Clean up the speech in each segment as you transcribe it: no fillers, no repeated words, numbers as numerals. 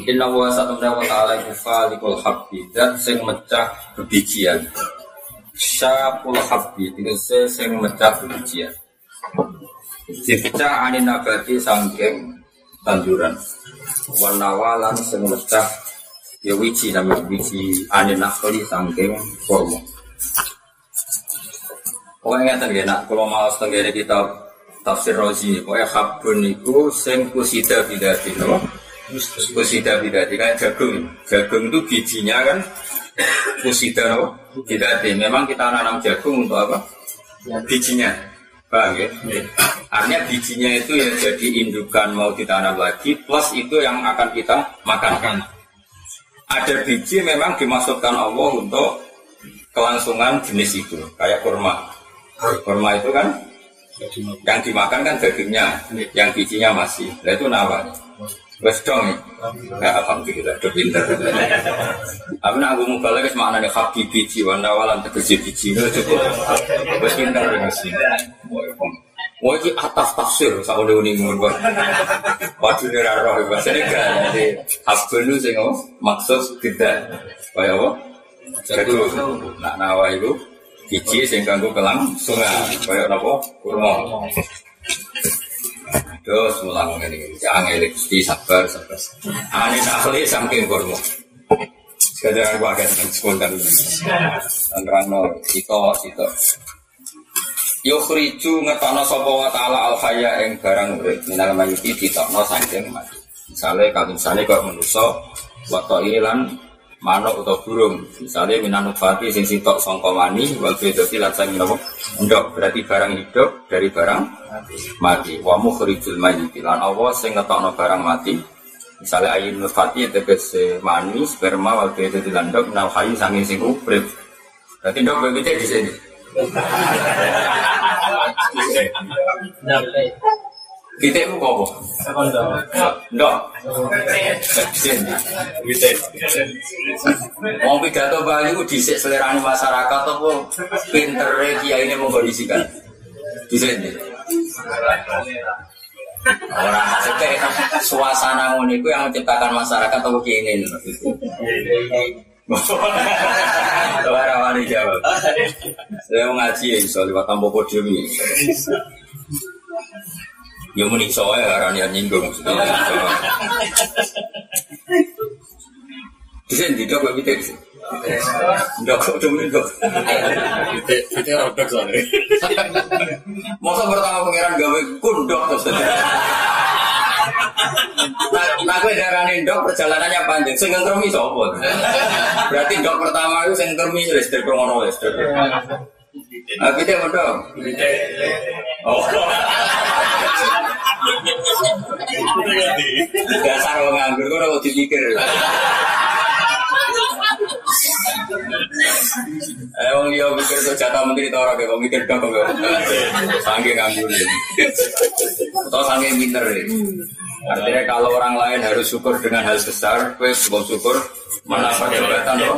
Inna wa satamna wa ta'ala kufalikul habbi dan sing mecah bebijian. Syakul habbi tegese sing mecah bebijian. Dipecah anin nabati sangking tanduran. Wanawalan sing mecah ya wiji namanya wiji anin nakhli sangking kurma. Pokoknya ngeten nggih nak kula maos tenggene kitab Tafsir Razi. Pokoknya habun niku sing kusida bidati napa? Kusida bidati kayak jagung. Jagung itu bijinya kan kusida napa? Bidati. Memang kita nanam jagung untuk apa? Bijinya. Paham ya? Artinya bijinya itu ya jadi indukan mau ditanam lagi plus itu yang akan kita makan. Ada biji memang dimaksudkan Allah untuk kelangsungan jenis itu, kayak kurma. Kurma itu kan yang dimakan kan dagingnya, yang bijinya masih. Nah itu namanya. Wes dong ya. Alhamdulillah, udah pinter. Tapi nak aku mau balik maknanya habib biji, wanawalan tegesi biji itu cukup. Wes pinter sih. Wah ini atas tafsir, saya udah uningun. Waduh ini raro, bahasanya kan. Jadi habib itu sih maksud tidak. Kayak apa? Jagung. Nak nawa itu biji sing kanggo kelangsungan. Kayak apa? Kurma. Terus mulang ngene iki, jangan eleksi sabar. Ane nakli saking kurma. Sekarang aku akan spontan. Anrano itu. Yukhriju ngetana sapa wa ta'ala al-hayya ing barang urip minal mayyiti ditokno saking mati. Misale kalungsane kok manusa wato lan manuk utawa burung. Misale minanut fati sing sitok sangka mani wal bedoti lan sing napa ndok berarti barang hidup dari barang mati. Wa mukhrijul mayyiti lan Allah sing ngetokno barang mati. Misale ayin nutfati tegese mani sperma wal bedoti lan ndok minal hayy sange sing urip. Berarti ndok bebete di sini. Kita itu apa? Ndok. Mau pidato Bali itu disik selerane masyarakat apa pintere kiai ini mengkondisikan. Disik ini. Orang maksudnya suasana ngono iku yang menciptakan masyarakat apa kiai ini. Orang wani jawab. Saya mau ngaji ya, soal lewat tampo podium ini. Ya muni soalnya karena nyinggung. Di sini tidak kok kita di sini. Tidak kok cuma itu. Kita rodok soalnya. Masa pertama pangeran gawe kundok terus. Nah, gue darahnya dok perjalanannya panjang. Sing ngermi sopot. Berarti dok pertama itu sing ngermi listrik pengono listrik. Kita mau dong. Oh. Dasar orang nganggur, kau udah dipikir. Emang dia mikir tuh jatah menteri orang kayak mikir dong kau. Sanggih nganggur. Atau sanggih pinter. Artinya kalau orang lain harus syukur dengan hal besar, gue syukur mendapat jabatan loh.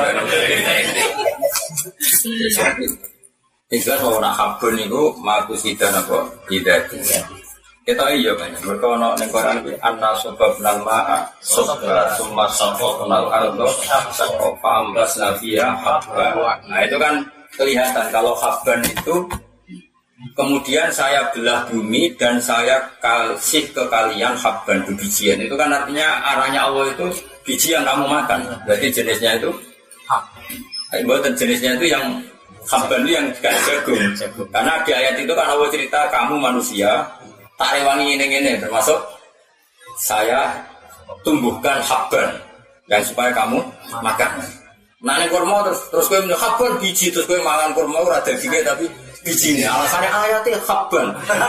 Jelas bahwa nak habun itu makus tidak apa tidak. Kita iya banyak. Mereka nak nengkoran bi anna sebab nama sebab summa sebab kenal ardo sebab ambas nafia habban. Nah itu kan kelihatan kalau habban itu kemudian saya belah bumi dan saya kasih ke kalian habban bijian. Itu kan artinya arahnya Allah itu biji yang kamu makan. Berarti jenisnya itu buatan jenisnya itu yang habban itu yang gak jagung. Karena di ayat itu kan Allah cerita kamu manusia tak rewangi ini termasuk saya tumbuhkan habban dan supaya kamu makan. Nah ini kurma terus gue minum habban biji terus gue makan kurma ora dagingnya tapi biji ini alasannya ayatnya habban.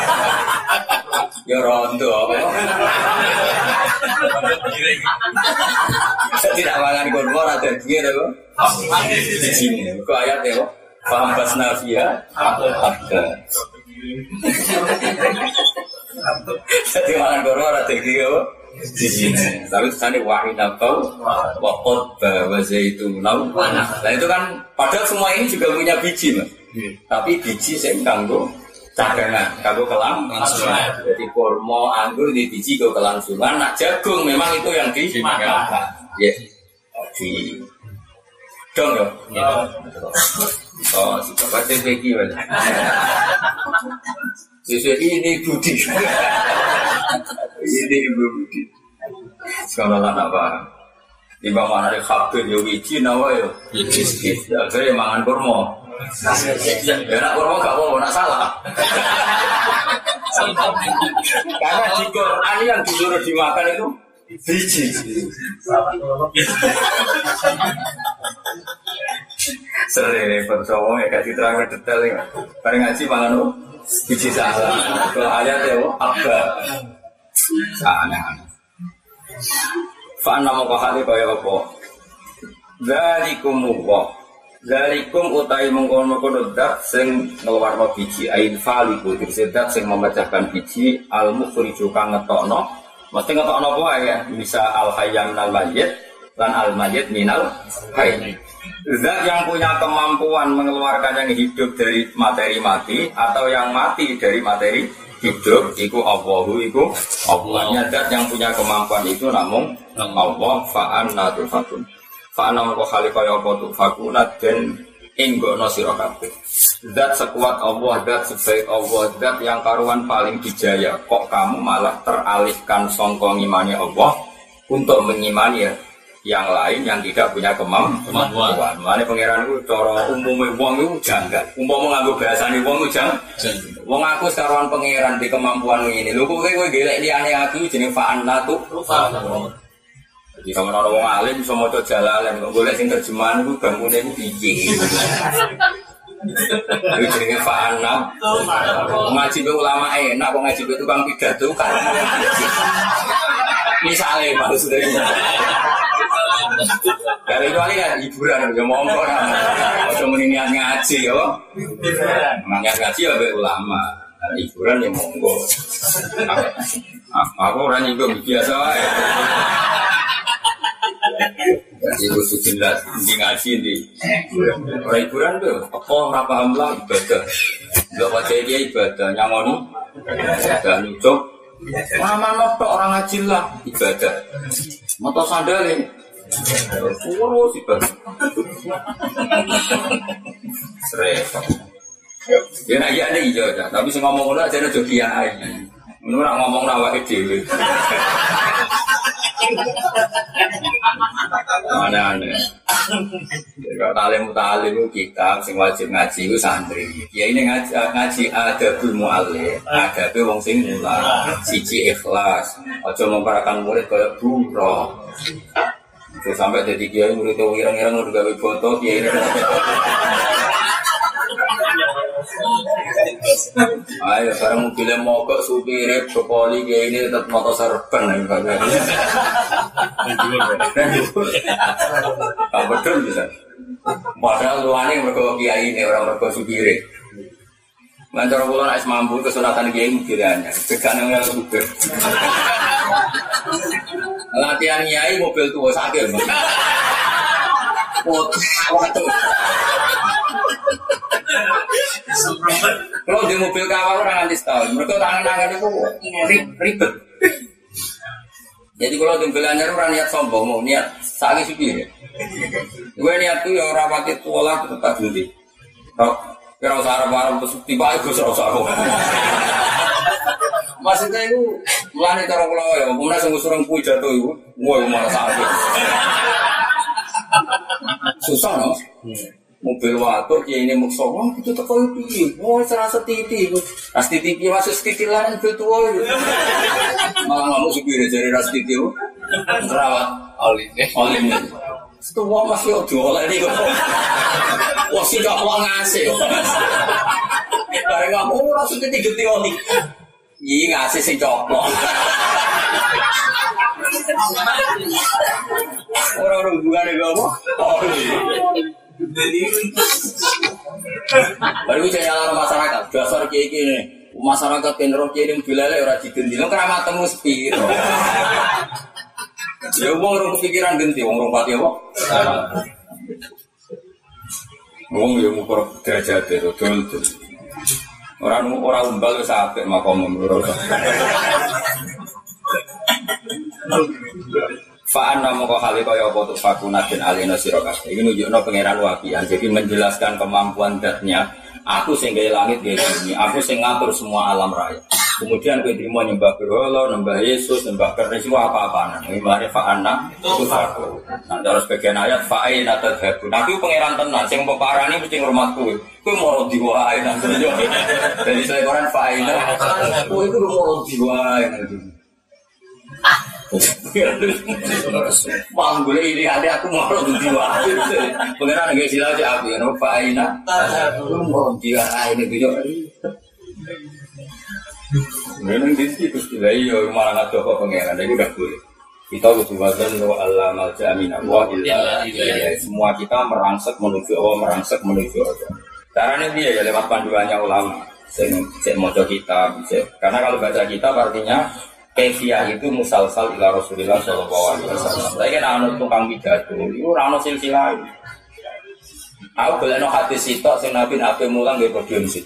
Ya rondo apa? Saya tidak makan kurma ora dagingnya tapi biji ini. Kok ayatnya kok? Fahambas nafia habban. Jadi makan kurma ora dagingnya kok? Di sini, tapi sana wahina kau, wakot bawa zaitun lau. Nah itu kan, padahal semua ini juga punya biji mas. Tapi biji saya kanggo cadangan, kanggo kelangsungan. Jadi kurma anggur di biji kanggo kelangsungan. Nak jagung memang itu yang dimakan. Ya, di dong ya. Oh, si bapak TPG mana? Ini Budi. Ini Ibu Budi. Sekarang apa? Di bawah mana ada kabel yo wiji nawa yo. Akhirnya mangan kurma. Ya nak kurma gak apa-apa, nak salah. Karena di Quran yang disuruh dimakan itu biji. Sering percaya kasih terang detail ya. Bareng ngaji mangan biji salah. Kalau ayat ya apa? Aneh-aneh. Fa'an nama kahali kaya apa? Zalikum Allah. Zalikum utai mengkono-kono dat sing ngeluarno biji ain faliku dikse dat sing memecahkan biji al-mukhriju kang ngetokno. Mesti ngetokno apa ya? Bisa al-hayyam minal mayyit dan al-mayyit minal hayy. Zat yang punya kemampuan mengeluarkan yang hidup dari materi mati atau yang mati dari materi hidup, iku Allahu, iku Allahnya. Zat yang punya kemampuan itu namun Allah. Fa'anna tufakun. Fa'anna maka khalifaya apa tufakuna dan inggono sira kabeh. Zat sekuat Allah, zat sebaik Allah, zat yang karuan paling dijaya, kok kamu malah teralihkan sangka ngimani Allah untuk mengimani yang lain yang tidak punya kemampuan. Mane pangeran iku cara umume wong iku janggal. Umpama nganggo bahasane wong iku janggal. Wong aku karuan pangeran di kemampuan ngene. Lho kowe golek liyane aku jeneng fa'anna tu. Jadi sama orang wong alim bisa maca Jalalain, kok golek sing terjemahan iku bangkune iku piye. Iku jenenge fa'anna. Ngaji be ulama enak kok ngaji be tukang pidato kan. Misalnya maksudnya dari itu kan hiburan ya monggo atau niat ngaji ya niat ngaji ya be ulama hiburan ya monggo aku orang nyinggung biasa ya itu jelas di ngaji di orang hiburan tuh apa ora paham lah ibadah enggak wajah dia ibadah nyangoni dan nyucuk mana notok orang ngaji lah ibadah motor sandalin urus ibadah seret ya nak iya ada hijau tapi saya ngomong udah saya udah kiai menurut ngomong awak dewe aneh-aneh kalau talim kita sing wajib ngaji itu santri ya ini ngaji adabul mu'allim adabul wong sing mulang siji ikhlas aja memparakan murid kaya buruh sampai jadi kiai murid itu irang-irang udah gawe foto kiai ini ayo sekarang mobilnya mogok supirnya berpoli kayak ini tetap motor serban tak betul bisa padahal luannya mereka kiai ini orang mereka supirnya lancar pulau nak mampu kesunatan kiai mobilnya sekarang yang supir latihan kiai mobil tua sakit waktu kalau di mobil kawal orang nanti setahun, mereka tangan-tangan itu ribet. Jadi kalau di mobil anyar orang niat sombong, mau niat sakit supir. Gue niat tuh yang rapati tualah tetap ganti. Kalau sarap-sarap terus tiba itu sarap-sarap. Maksudnya itu melani cara pulau ya, kemudian sungguh-sungguh pui jatuh itu, gue malah sakit. Susah no? Mobil waktu dia ini maksud, wah itu teko piye, wah serasa titi, ras titi piye masuk titi lain mobil tua itu, malah nggak mau supir dari ras titi itu, terawat olin, setua masih jualan ini kok, wah sih gak mau ngasih, karena nggak mau ras titi gede oli, iya ngasih sih coplok. Orang-orang bukan ada apa? Baru saya nyala masyarakat, dasar kayak gini, masyarakat kenro kirim bilale orang digenti, lo keramat temu sepi. Ya uang orang kepikiran genti, uang orang pati apa? Uang yang mau derajat itu, betul. Orang umbal wis apik makom menurut. Fa'an namoko hale kaya apa tuh fakunatin alina sira kabeh. Iki nunjukno pangeran wapian. Jadi menjelaskan kemampuan zatnya. Aku sing gawe langit gawe bumi, aku sing ngatur semua alam raya. Kemudian kowe trimo nyembah berhala, nyembah Yesus, nyembah keris apa-apaan. Iki mari fa'anna itu faku. Nah, terus bagian ayat fa'ina tadhabu. Nah, iku pangeran tenan sing peparani mesti ngurmat kowe. Kowe moro diwae nang donya. Jadi saya Quran fa'ina tadhabu iku moro diwae nang donya. Manggul ini ada aku mau diwai. Pengenan nggak silau aja aku ya. Nopo aina. Mau diwai ini video. Memang di situ sudah iyo malah nggak tahu pengenan. Jadi udah boleh. Kita butuh wazan wa Allah maljamin wa illa. Semua kita merangsek menuju Allah, merangsek menuju Allah. Caranya dia ya lewat panduannya ulama. Saya mau kita, karena kalau baca kitab artinya Kefiyah itu musalsal ila Rasulullah sallallahu alaihi wasallam. Saya kan anu tukang pidato, itu ora ono silsilah. Aku golekno hadis sitok sing Nabi mulang nggih podium sik.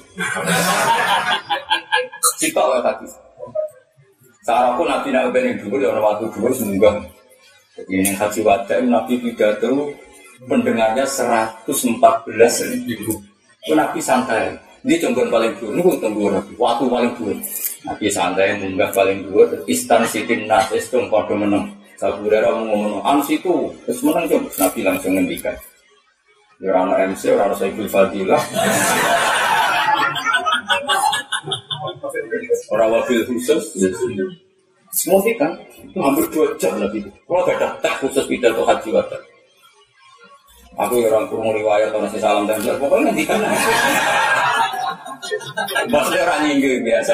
Sitok wae hadis. Saraku Nabi ben dhuwur ya ono waktu dhuwur semunggah. Jadi haji wada Nabi pidato pendengarnya 114.000. Itu Nabi santai. Ini jenggon paling dhuwur, niku tenggur waktu paling dhuwur. Nabi santai munggah paling dhuwur istan sitin nas estung padha meneng. Saburera ngomong situ terus meneng coba Nabi langsung ngendikan. Ya ora ana MC, ora ana Sayyidul Fadilah. Ora wabil khusus. Semua kan itu hampir 2 jam lebih. Kalau gak ada tak khusus pidato haji wada. Aku orang kurung riwayat orang salam dan pokoknya ngendikan. Maksudnya orang nyinggung biasa.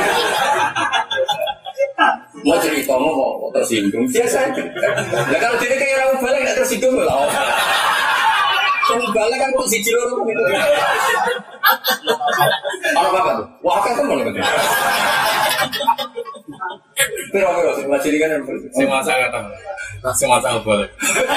Mau cerita mau kok tersinggung biasa. Ya kalau jadi kayak orang balik nggak tersinggung lah. Orang balik kan kok si cilur gitu. Apa tuh? Wah kan teman gitu. Pero semua ciri kan semua sangat tahu. Semua tahu boleh.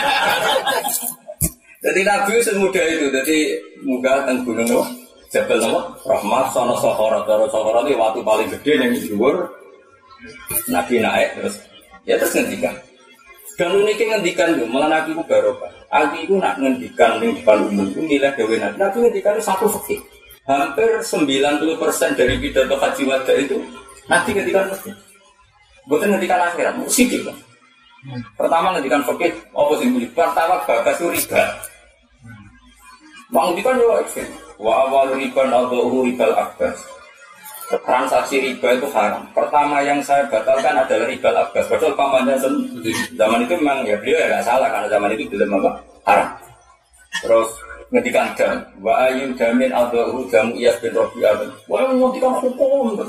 Jadi Nabi semudah itu. Jadi muka teng gunung Jabal nama Rahmat sono Sohorot itu waktu paling gede yang di luar. Nabi naik terus ngendikan. Dan uniknya ngendikan itu malah Nabi itu barokah. Nabi itu nak ngendikan di depan umum itu nilai dewi Nabi. Nabi ngendikan itu satu fikih. Hampir 90% dari pidato haji wada itu Nabi ngendikan fikih. Bukan ngendikan akhirat, musik kan. Pertama ngendikan fikih, apa sih bunyi? Pertama bagas itu riba. Ngendikan ya ekstrim. Wa awal riba al-dhuhu ribal akbas. Transaksi riba itu haram. Pertama yang saya batalkan adalah ribal akbas. Padahal pamannya zaman itu memang ya beliau ya nggak salah karena zaman itu belum apa haram. Terus ngendikan dam. Wa ayu damin al-dhuhu jamu Iyas bin Rabi'ah. Wah ngendikan hukum.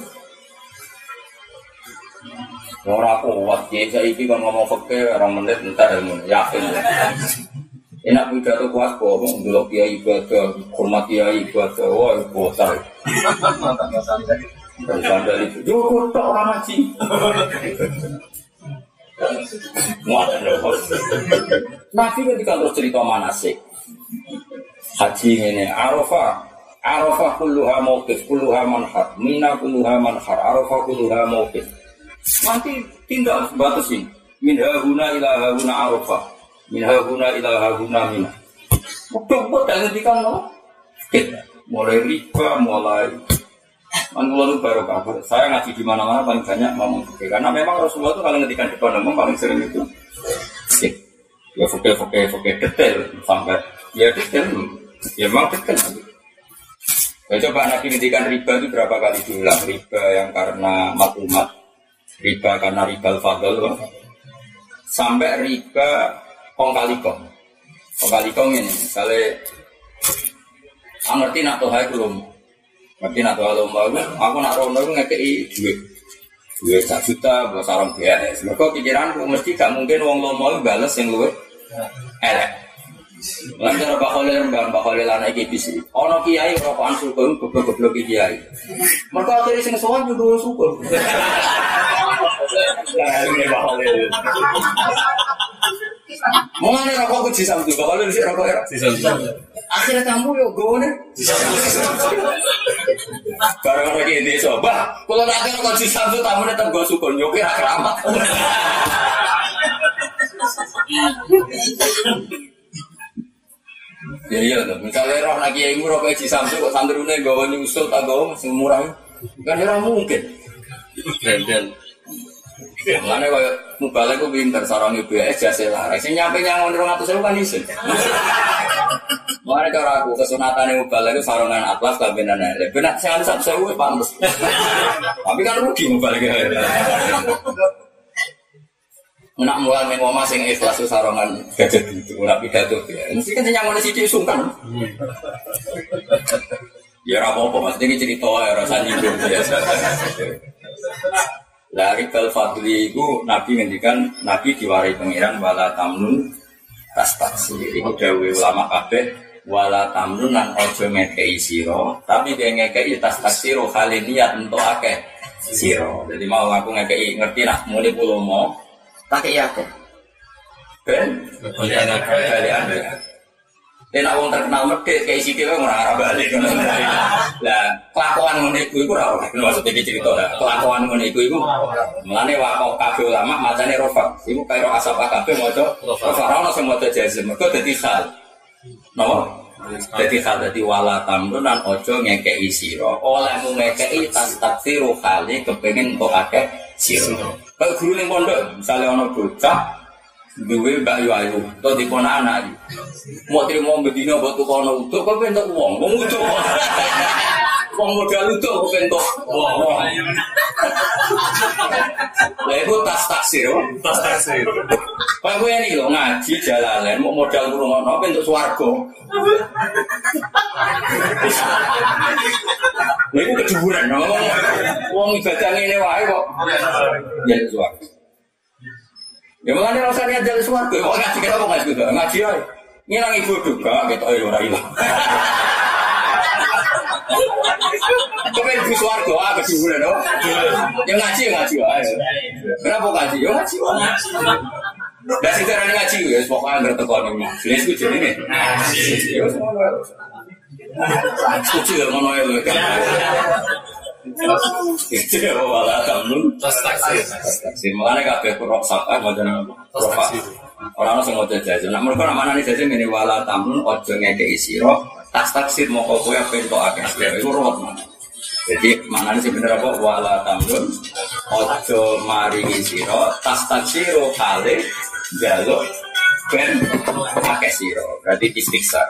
Orang kuat ya saya ini kan ngomong fakir orang menit entar ilmu yakin. Enak pidato kuat kok, dulu kiai ibadah, hormat kiai ibadah, wah botar. Dan sandal itu, jauh tak orang haji. Muat lepas. Nabi ketika terus cerita manasik, haji ini Arafah kulluha mauqif, kulluha manhar, Mina kulluha manhar, Arafah kulluha mauqif. Nanti tinggal batasi, minha huna ila huna Arafah. Minha guna ila guna mina. Betul dan ngendikan no. Mulai riba, mulai anggulan baru kabar. Saya ngaji di mana-mana paling banyak ngomong fikih karena memang Rasulullah itu kalau ngendikan depan umum paling sering itu. Ya fikih detail sampai ya detail. Ya memang detail. Ya coba Nabi ngendikan riba itu berapa kali diulang? Riba yang karena maklumat, riba karena riba al-fadl, sampai riba kong kali kong ini, misalnya, ngerti nak tohai belum, ngerti nak tohai lomba, aku nak rono itu ngekei duit 1 juta buat sarang BNS. Mereka pikiranku mesti gak mungkin wong lomba itu bales yang luwe elek. Lancar Mbak Khalil anak kibis ini. Ono kiai rokokan suka goblok kiai. Mereka akhirnya sing sowan juga suka. Ini Mbak Khalil. Mengani rokok ku disambut, kalau lu sih rokok era disambut. Akhirnya kamu yo gone. Barang lagi ini coba. Kalau nanti kalau di Samsu tamu tetap gue sukun, nyokir keramat. Ya iya tuh. Misalnya roh lagi yang murah kayak di Samsu kok sandrune gawe nyusul tak gawe masih murah. Kan ora mungkin. Dan mana kaya mubalek ku pinter sarang BS jase laras. Sing nyampe nyangon 200.000 kan isin. Mana cara aku kesunatane mubalek ku sarongan atlas kabenan elek. Benak sing 1.000 wis pantes. Tapi kan rugi mubalek. Nak mulai ning omah sing ikhlas sarongan gadget gitu, ora pidato ya. Mesti kan nyangon sithik sungkan. Ya ora apa-apa, maksudnya cerita ya rasa nyinggung biasa. Dari Al-Fadli itu Nabi ngendikan Nabi diwarai pengiran wala tamnun tastaksir. Iku dawuh ulama kabeh wala tamnun lan aja ngekeki sira, tapi dia ngekeki tastaksir hale niat entuk akeh sira. Jadi mau aku ngekeki ngerti nak muni pulo mau tak kei akeh. Ben kali anda. Nek wong terkenal medhit kayak sithik ora arah balik. Lah, kelakuan ngene iku ora ora. Maksud iki cerita lah. Kelakuan ngene iku mulane wae kabeh ulama macane rofa. Iku kaya asap kabeh maca rofa. Ora ono sing maca jazm. Mergo dadi hal. Napa? Dadi hal dadi wala tamrun lan aja ngekeki sira. Olehmu ngekeki tas taksiru khali kepengin kok akeh sira. Kaya guru ning pondok, misale ana bocah duwe Mbak Yu Ayu, to dipona anak iki. Mau trimo bedino mbok tukono utuk kok pentok wong utuk. Wong modal utuk kok pentok wong. Lah iku tas taksir. Pak kowe iki lho ngaji jalalen mau modal ngrungokno pentok swarga. Lha iku keduburan wong ibadah ngene wae kok. Ya swarga. Ya makanya rasanya jalan suarga, kok ngaji kita kok ngaji juga, ngaji aja. Ngilang ibu juga, kita orang hilang. Kepen ibu suarga, keduburan dong. Yang ngaji aja. Kenapa ngaji? Ya ngaji aja. Dan sejarahnya ngaji, ya pokoknya bertekon ini. Jenis itu jadi ini. Ya semua. Setuju ya ngono ya. Itu ya wala tamnun tastaksir. Makanya kabeh kurang sabar macam apa? Orang sing maca jajan. Nek mergo namane jajan ngene wala tamnun aja ngekeki sira tastaksir moko kowe pentok akeh. Iku ruwet. Jadi maknane sing bener apa wala tamnun aja maringi sira tastaksiru kale jaluk ben akeh sira. Berarti istiksa.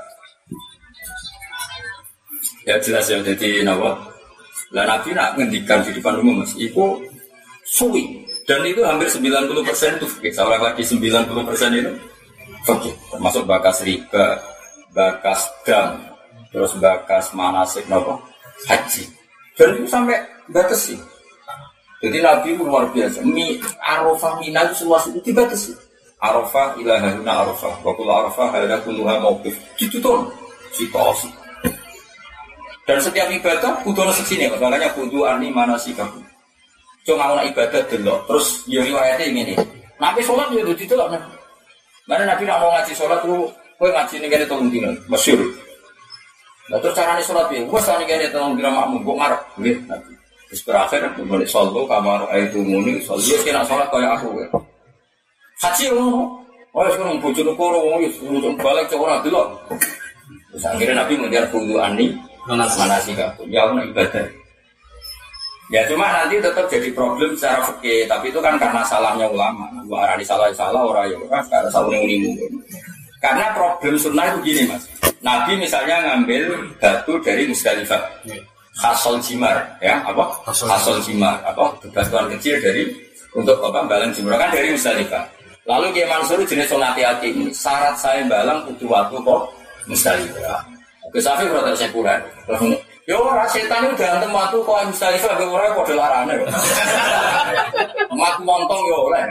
Ya jelas ya jadi napa? Lah Nabi nak ngendikan di depan umum mas, itu suwi dan itu hampir 90% itu fikih. Saya lagi 90% itu fikih, termasuk bakas riba, bakas dam, terus bakas manasik nopo haji. Dan itu sampai batas sih. Jadi Nabi itu luar biasa. Arafah Mina itu seluas itu dibatasi. Arafah ilahuna Arafah, wakul Arafah ada kuluha mauqif. Itu tuh situasi. Dan setiap ibadah kudu ana seksine, makanya kudu ani manasikaku. Cuma ana ibadah delok, terus ya riwayate ngene. Nabi salat yo didelok. Mana Nabi nak mau ngaji salat ku kowe ngaji ning kene 3 dina, masyhur. Lah terus carane salat piye? Wes ning kene 3 dina makmum kok ngarep nggih Nabi. Wis berakhir mulai sallu kamar aitu muni sallu kena salat kaya aku kowe. Haji ngono. Oh wis ngono bojone karo wong wis balik cok ora delok. Terus akhirnya Nabi ngejar kudu ani manasikaku, ya Allah ibadah. Ya cuma nanti tetap jadi problem secara fikih, tapi itu kan karena salahnya ulama. Gua arani salah orang ya ora, karena salah unimu. Karena problem sunnah itu gini mas. Nabi misalnya ngambil batu dari Musdalifah, khasol jimar, ya apa? Khasol jimar, apa? Batuan kecil dari untuk apa? Balang jimar kan dari Musdalifah. Lalu Kiai Mansur jenis sonati hakim, syarat saya balang butuh waktu kok Musdalifah. Kesafi berarti sekuler. Yo ora setan itu dantem watu kok Musdalifah kok ora padha larane. Mat montong yo oleh.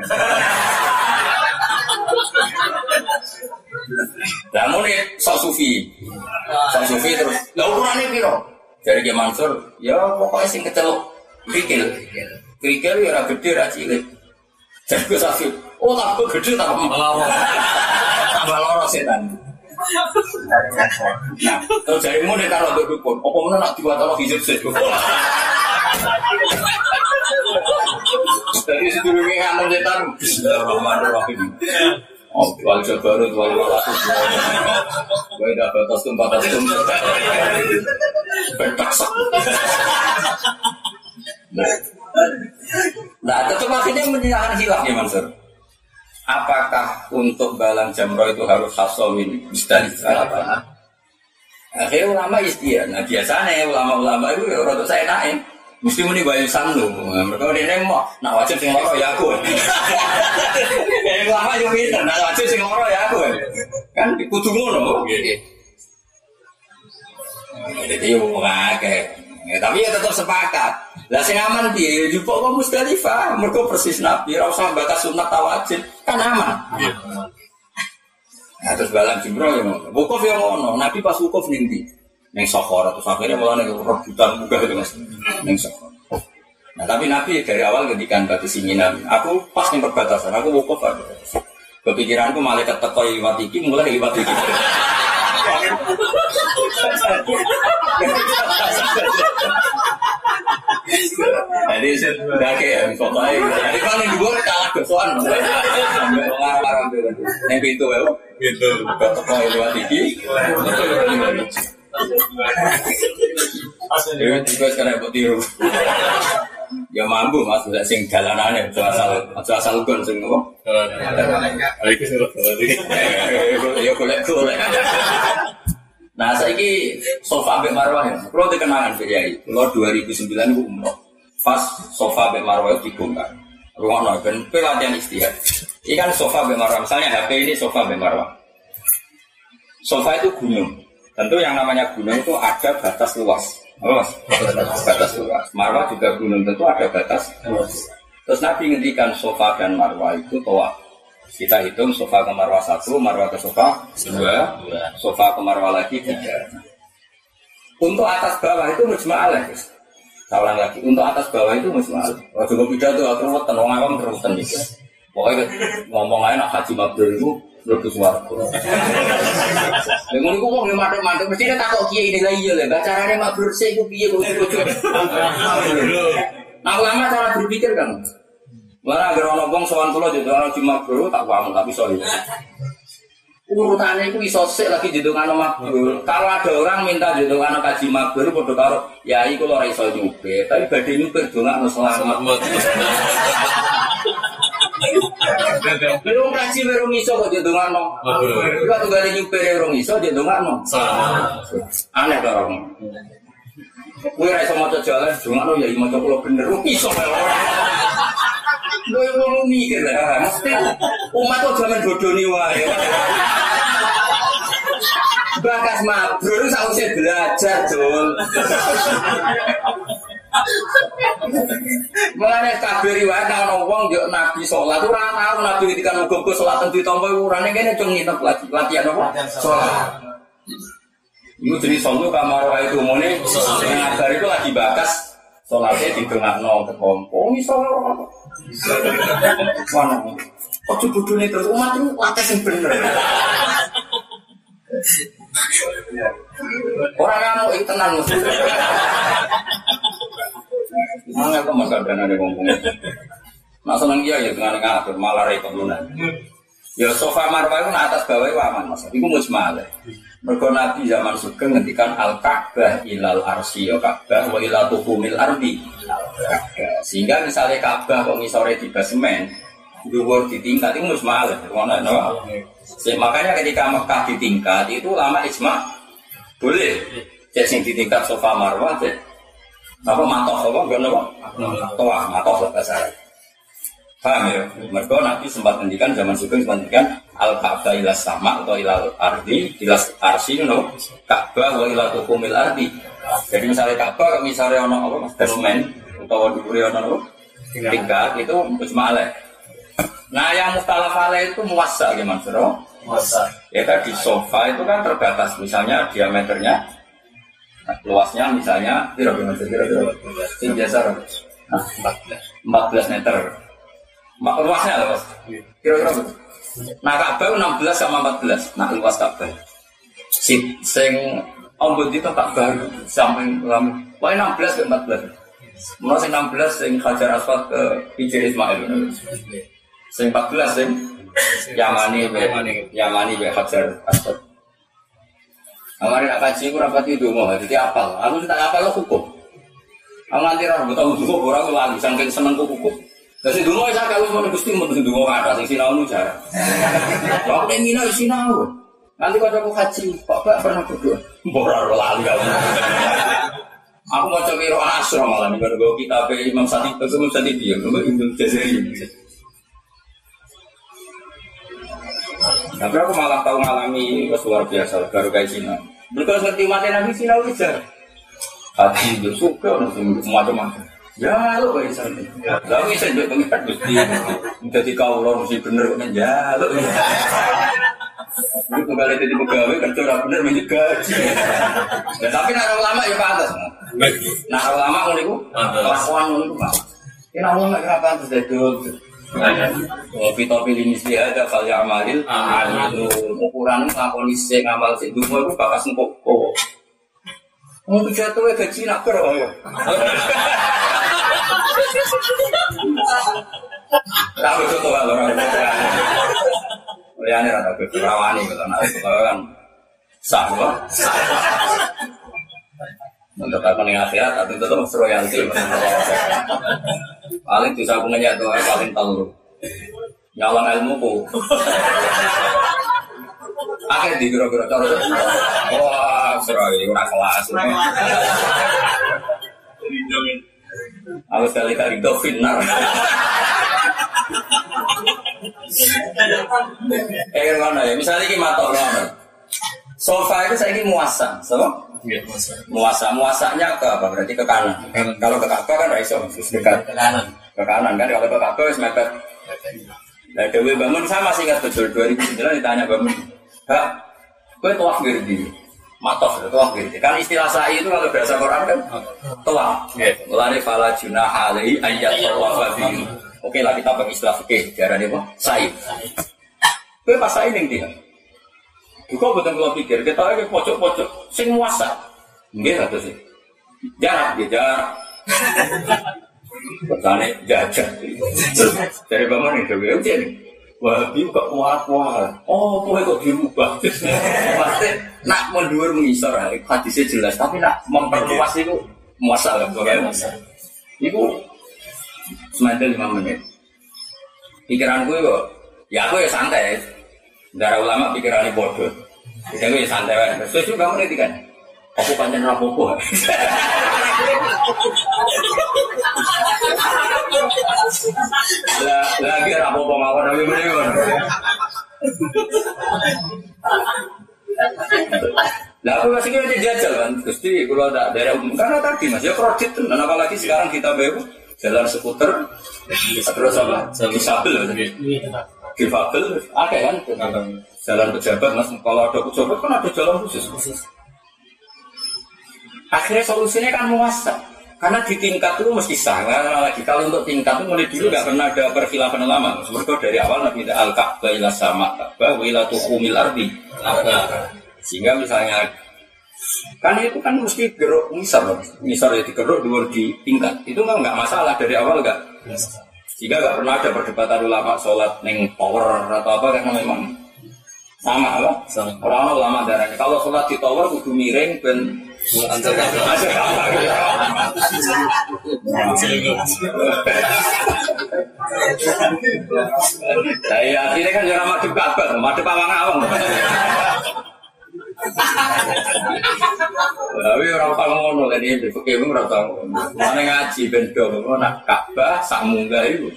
Lah muni sok sufi. Sok sufi terus. Lah ukurane piro? Dari Ki Mansur, ya pokoke sing keceluk krikil. Krikil ya ora gedhe ra cilik. Jadi Kesafi, oh tak gede tak malah. Tambah loro setan. Nah, terus jarimu nih kalau dukun, apa mana nak dibuat Allah hijab sih? Jadi sedurunge ngamen setan Bismillahirrahmanirrahim. Oh, wal jabarut wal malakut. Wa idza batastum batastum. Bertaksak. Nah, tetap akhirnya menyerahkan hilaf ya Mansur. Apakah untuk balang jamroh itu harus hasawin Musdalifah apa? Akhirnya ulama istiadat. Nah biasanya ulama-ulama itu ya orang saya naik. Mesti muni bayu sandu. Mereka dia mau nak wajib sing loro ya aku. Kayak ulama yo pinter, nak wajib sing loro ya aku. Kan kudu ngono. Jadi yo ngake. Ya, tapi ya tetap sepakat. Lah sing aman piye? Yo kok Musdalifah, mergo persis Nabi, ora usah batas sunat ta wajib, kan aman. Iya. Nah, terus balang jumroh ya ngono. Wukuf ya ngono, Nabi pas wukuf ning ndi? Ning Sakhara, terus akhirnya malah ning rebutan munggah itu Mas. Ning Sakhara. Nah, tapi Nabi dari awal ngendikan batu singinan. Aku pas ning perbatasan, aku wukuf aja. Kepikiranku malaikat teko liwat iki, mulai liwat iki. Jadi sudah kayak pokoknya. Jadi kalau yang dibuat kalah kesuan. Ngarang yang pintu ya. Pintu. Toko lewat iki. Dewi juga sekarang buat tiru. Ya mampu mas, sudah sing jalanannya, asal gon sing apa? Ya golek. Nah, saiki sofa mbek Marwah ya. Kulo dikenangan Pak Yai. Kulo 2009 ku umroh. Pas sofa mbek Marwah dibongkar. Ruangno ben pelatihan istihad. Iki kan sofa mbek Marwah. Misalnya HP ini sofa mbek Marwah. Sofa itu gunung. Tentu yang namanya gunung itu ada batas luas. Apa Mas? Batas luas. Marwah juga gunung, tentu ada batas luas. Terus Nabi ngendikan sofa dan Marwah itu tawaf. Kita hitung sofa ke Marwah 1, Marwah ke sofa 2, sofa ke Marwah lagi 3. Untuk atas bawah itu mujma'alah. Saya ulang lagi, untuk atas bawah itu mujma'alah. Waktu gue pidato aku ruwetan, wong awam ruwetan gitu. Pokoknya ngomong aja nak haji mabrur itu lebih suaraku. Dengan itu ngomong mantap-mantap, mesti dia takut kiai ini lagi ya, caranya mabrur saya itu kiai gue. Nah lama cara berpikir kan. Mana agar orang bong soal pulau jadi orang cuma bro tak paham tapi soal urutannya itu isosek lagi jadi orang makbul. Kalau ada orang minta jadi orang kaji makbul, bodoh karo ya itu lo raiso nyupe, tapi badai nyupe doang no selamat. Belum kaji belum iso kok jadi orang no. Juga tuh gak nyupe belum iso jadi orang no. Aneh orang. Gue raiso mau jalan, doang no ya mau coba bener iso gue mau mikir lah, mesti umat tuh zaman bodoh nih wae. Bakas mabrur sausnya belajar Jul. Mulane kabeh riwayat nang wong yo Nabi salat ora tau Nabi ketika muga-muga salat ten ditampa urane kene cung nginep latihan apa? Salat. Iku jenis solo kamar wae itu mune ngabar itu lagi bakas salatnya didongakno kekompo iso apa? Mana? Kok bodoh nih terus umat itu latih yang bener. Orang kamu itu tenang mesti. Mana kok makan dana ada ngomong. Nak seneng dia ya dengan ngatur malah repot lunan. Ya sofa Marwah itu atas bawah itu aman mas. Iku mujmal. Mergo Nabi zaman Sugeng ngendikan al-Ka'bah ilal arsy ya Ka'bah wa ila tuhumil ardi. Sehingga misalnya Ka'bah kok ngisore di basement, dhuwur di tingkat itu mujmal. Ngono no. Makanya ketika Mekah di tingkat itu lama ijma boleh. Cek sing di tingkat sofa Marwah cek apa matoh apa enggak no. Toa matoh bahasa Arab. Paham ya? Mergo Nabi sempat ngendikan zaman Sugeng sempat ngendikan al-Ka'bah ila sama atau ila ardi ila arsy no Ka'bah wa ila tuhumil ardi. Jadi misalnya Ka'bah misalnya ono apa basement utawa dhuwure ono tingkat itu mujmalah. Nah yang mukhtalaf alaih itu muwassa gimana Suro? Muwassa. Ya tadi sofa itu kan terbatas misalnya diameternya luasnya misalnya kira-kira sing biasa 14 meter. Luasnya apa? Kira-kira. Nah Ka'bah 16 sama 14. Nah luas Ka'bah. Sing ombud itu tak baru sampai lama. Pokoknya 16 ke 14. Mulai sing 16 sing Hajar Aswad ke Hijr Ismail. Sing 14 sing Yamani be Hajar Aswad. Amari nak kaji ku rapati donga, dadi apal. Aku tak apal lo hukum. Aku nganti ora tau donga ora aku lali saking senengku hukum. Dadi donga sak kalau ngono Gusti mun donga kata sing sinau jar. Kok nek ngino sinau. Nanti kalau aku haji, Bapak pernah berdoa. Ora lali kalau. Aku mau coba iro asro malah nih kalau kita pe Imam Sati dia, Imam Jazari. Tapi aku malah tahu ngalami luar biasa baru kayak Cina. Mereka ngerti mati Nabi Cina ujar. Hati itu suka macam-macam. Ya lo kayak sana. Lalu saya juga pengen mesti jadi kau lo mesti bener kan ya lo. Ini kembali jadi pegawai kerja orang bener menjaga. Ya tapi nak ulama ya pantas. Nah ulama ngono iku kelakuan ngono iku Pak. Ini ulama kenapa pantas dedol. Topi ini sih ada kali amalil itu ukuran ngakoni sing ngamal sing dungo iku bakas engko. Mau jatuh gaji nak ber ya. Tahu itu tuh kalau orang liane rata kerawani gitu kan sah loh. Untuk apa nih akhirat tapi itu tuh royalti. Paling bisa punya tuh paling tahu nyalon ilmuku. Akhir di gero-gero cara. Wah, serai ora kelas. Aku sekali kali itu final. Mana ya? Misalnya ini matok mana? Sofa itu saya ini muasa, sama? Muasa, muasanya ke apa? Berarti ke kanan. Kalau ke Ka'bah kan raiso, dekat ke kanan. Ke kanan kan? Kalau ke Ka'bah harus mepet. Nah, Dewi Bangun saya masih ingat betul 2009 ditanya Bangun, Kak, gue tuah girdi, matof tuah girdi. Kan istilah sa'i itu kalau bahasa Quran kan tuah. Mulane fala junah alaihi ayat tawafa bihi. Oke lah kita pakai istilah fikih, diarani apa? Sa'i. Gue pas sa'i ning ndi? Juga betul kalau pikir kita lagi pojok-pojok sing muasa. Nggih satu sih. Jarak. Pertanyaan jajah. Dari bangun itu gue ujian. Wah, dia kok kuat. Oh, kok dirubah. Pasti nak mundur mengisor, hadisnya jelas. Tapi nak memperluas itu muasa lah, bukan muasa. Itu semandel 5 menit. Pikiran gue kok, ya aku ya santai. Darah ulama pikirannya bodoh. Jadi gue ya santai. Sesuai kamu nanti kan. Aku panjang rapopo. Lagi rapopo mawar tapi bener. Lah aku masih kira jajal kan, Gusti kalau ada daerah umum karena tadi Mas ya kredit dan apalagi sekarang kita baru jalan skuter terus apa? Disabel. Difabel ada kan? Jalan pejabat Mas kalau ada pejabat kan ada jalan khusus. Akhirnya solusinya kan muasa. Karena di tingkat itu mesti salah lagi. Kalau untuk tingkat itu mulai dulu nggak pernah ada perkhilafan ulama. Sebab dari awal Nabi al-Ka'bah ila sama Ka'bah ila tuhumil ardi. Sehingga misalnya kan itu kan mesti geruk misal ya digeruk dulu di tingkat. Itu nggak masalah dari awal nggak. Sehingga nggak pernah ada perdebatan ulama sholat neng tower atau apa karena memang sama apa? Orang ulama darahnya. Kalau sholat di tower kudu miring dan antar saya ini kan jangan madep Ka'bah, madep awang-awang. Tapi orang tahu ngono kan ini fikih ora tahu. Mane ngaji ben do nak Ka'bah sak munggah iku.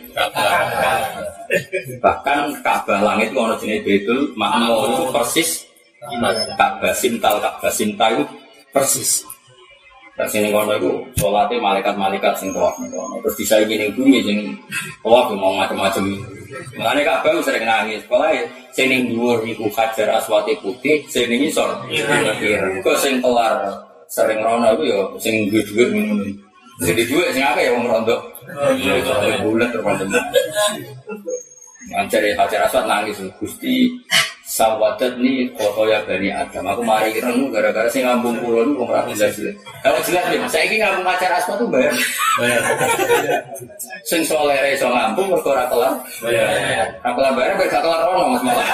Bahkan Ka'bah langit ono jenenge Baitul Ma'mur itu persis Ka'bah Sinta itu persis. Terus ini kono itu sholatnya malaikat-malaikat sing tawaf kono. Terus disaingi ning bumi sing tawaf mau macam-macam. Mulane Ka'bah sering nangis. Pokoke sing ning dhuwur iku Hajar Aswad putih, sing ning isor ireng. Kok sing kelar sering rono iku ya sing duwe-duwe ngono. Jadi duwe sing akeh ya wong rondo. Bulat terus. Ngancare Hajar Aswad nangis Gusti Sawadat nih foto ya Bani Adam. Aku mari renung gara-gara saya ngambung pulau itu kok jelas. Kalau jelas nih, saya ini ngambung pacar asma tuh bayar. Sing soleh so ngambung berkorak kelar. Apalah bayar berkat kelar ono mas malah.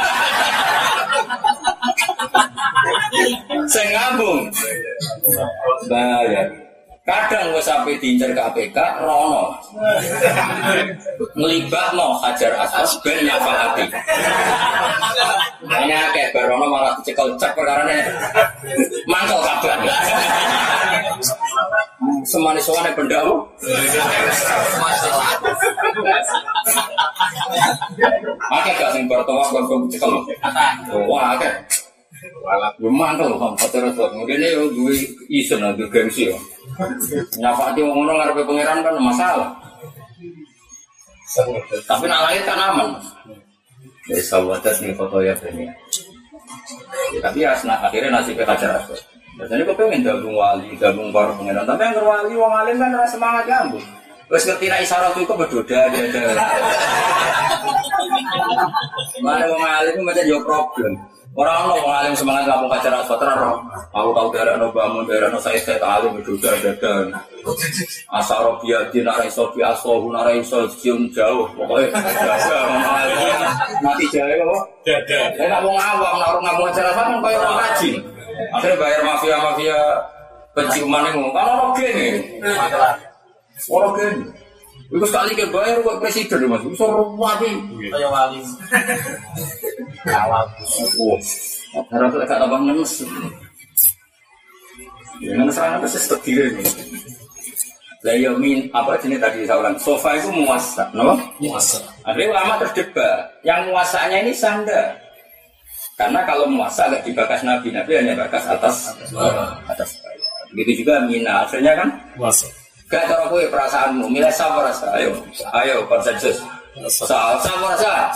Saya ngambung bayar. Kadang gue sampai diincar KPK, rono ngelibatno Hajar Aswad ben nyafalati. Hanya kayak barono malah dicekel cek perkarane mangkel kabar. Semanis-semanis pendamu. Akeh gak sing bertawaf kon cekel. Wah akeh. Mangkel kok Hajar Aswad. Ngene yo duwe isen nang gengsi yo. Nyafati wong ngono ngarepe pangeran kan masalah. Tapi nak lahir kan aman. Ya sawadat nih foto ya Bani. Tapi akhirnya nasibnya Hajar Aswad. Biasanya kok pengen gabung wali, gabung para pangeran. Tapi yang wali wong alim kan ora semangat gabung. Wes ngerti nek isyarat itu berdoa ada. Mana wong alim macam yo problem. Orang orang alim semangat ngapung Hajar Aswad terus. Aku tahu daerah no bangun daerah no saya alim berdoa dan asarobia di narai sobi asohu narai sosium jauh pokoknya orang alim mati jauh kok. Saya nggak mau ngawam ngapung Hajar Aswad kan kayak orang rajin. Akhirnya bayar mafia penciuman yang ngomong kan orang gini. Orang gini. Itu sekali ke bayar buat presiden mas, itu wali, kayak wali. Kalah, harus agak tambah ngenes. Ngenes orang itu setidaknya ini. Layomin apa jenis tadi saya ulang, sofa itu muasa, no? Muasa. Akhirnya ulama terdebat, yang muasanya ini sanda. Karena kalau muasa agak dibakas Nabi hanya bakas atas. Begitu juga mina, akhirnya kan muasa. Gak tahu aku perasaanmu, milih sama rasa, ayo konsensus. Sama rasa,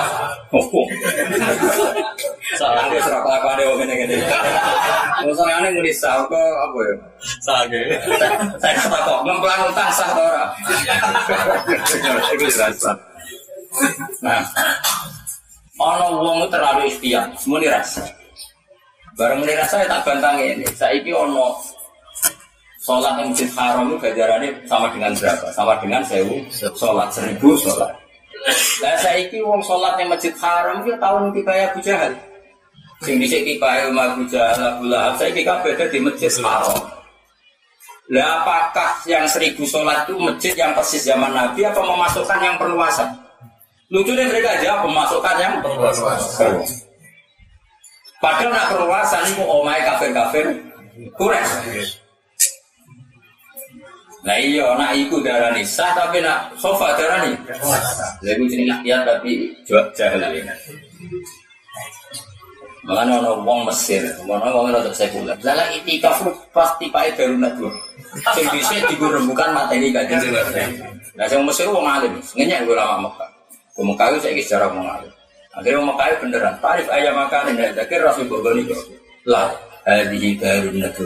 salah dia serak apa ada orang ini. Misalnya ini nulis sah, kok apa ya? Sah gitu. Saya kata kok ngemplang utang sah atau ora? Itu dirasa. Nah, orang wong terlalu ikhtiar, semua dirasa. Barang dirasa tak bantang ini. Saya ini ono sholat yang Masjid Haram itu gajarannya sama dengan berapa? Sama dengan 1000 sholat, 1000 sholat. Nah saya ini wong sholat yang Masjid Haram itu tahun kibaya Abu Jahal. Yang bisa kibaya Abu Jahal, Abu Lahab, saya ini beda di Masjid Haram. Lah apakah yang 1000 sholat itu masjid yang persis zaman Nabi atau memasukkan yang perluasan? Lucunya mereka aja memasukkan yang perluasan. Padahal nak perluasan itu omai kafir-kafir Quraisy. Nah iya, nak ikut darah nih sah tapi nak sofa darah nih. Lalu jenis rakyat tapi jahil ini. Makanya orang wong Mesir, orang wong itu sekuler. Dalam itikaf pasti pakai darunat dua. Yang bisa digurembukan materi kajian. Nah yang Mesir wong alim, ngenyak gue lama Mekah. Gue Mekah itu saya sejarah wong alim. Akhirnya wong Mekah beneran. Tarif ayam makan ini, akhir Rasul Bogoni lah. Hadihi darun nadwa.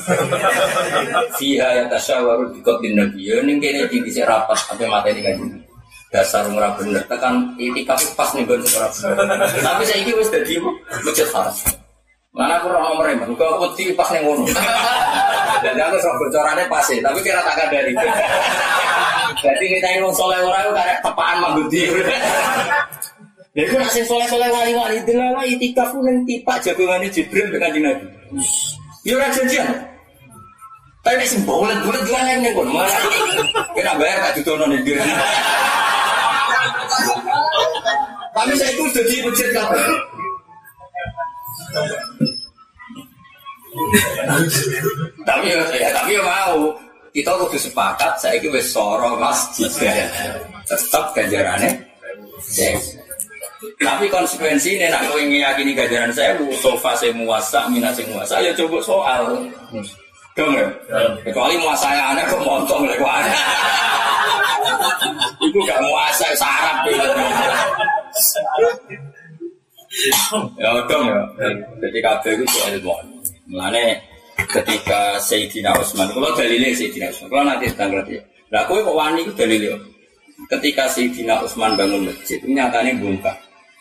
Fiha yatasyawaru biqatlin nabiy. Ning kene iki dhisik rapat sampai materi kan. Dasar ora bener tekan itikaf pas ning nggon ora bener. Tapi saiki wis dadi Masjid Haram. Mana aku ora nomor emang kok wedi pas ning ngono. Dan aku sok bocorane pas tapi kira tak kandani. Jadi kita wong saleh ora karek tepaan manggudi. Lha iku nek sing saleh-saleh wali-wali delala itikaf ning tipak jagongane Jibril dengan Kanjeng Nabi. Ya ora janjian. Tapi nek sing bulet-bulet juga ning kono. Kena bayar tak dudono ning diri. Tapi saya itu jadi masjid kabeh. Tapi ya mau kita kudu sepakat saiki wis soro masjid. Tetap ganjarane. Tapi konsekuensi ini nak kau ingin yakini ganjaran saya, sofa saya muasa, minat saya muasa, ya coba soal, dong ya. Kecuali muasa yang aneh kok montong lagi aneh. Itu gak muasa sarap gitu. Ya dong ya. Ketika itu soal ilmu. Mulane ketika Sayyidina Utsman, kalau dalilnya Sayyidina Utsman, kalau nanti tanggal dia. Lah kowe kok wani itu dalilnya. Ketika Sayyidina Utsman bangun masjid, nyatanya bongkar.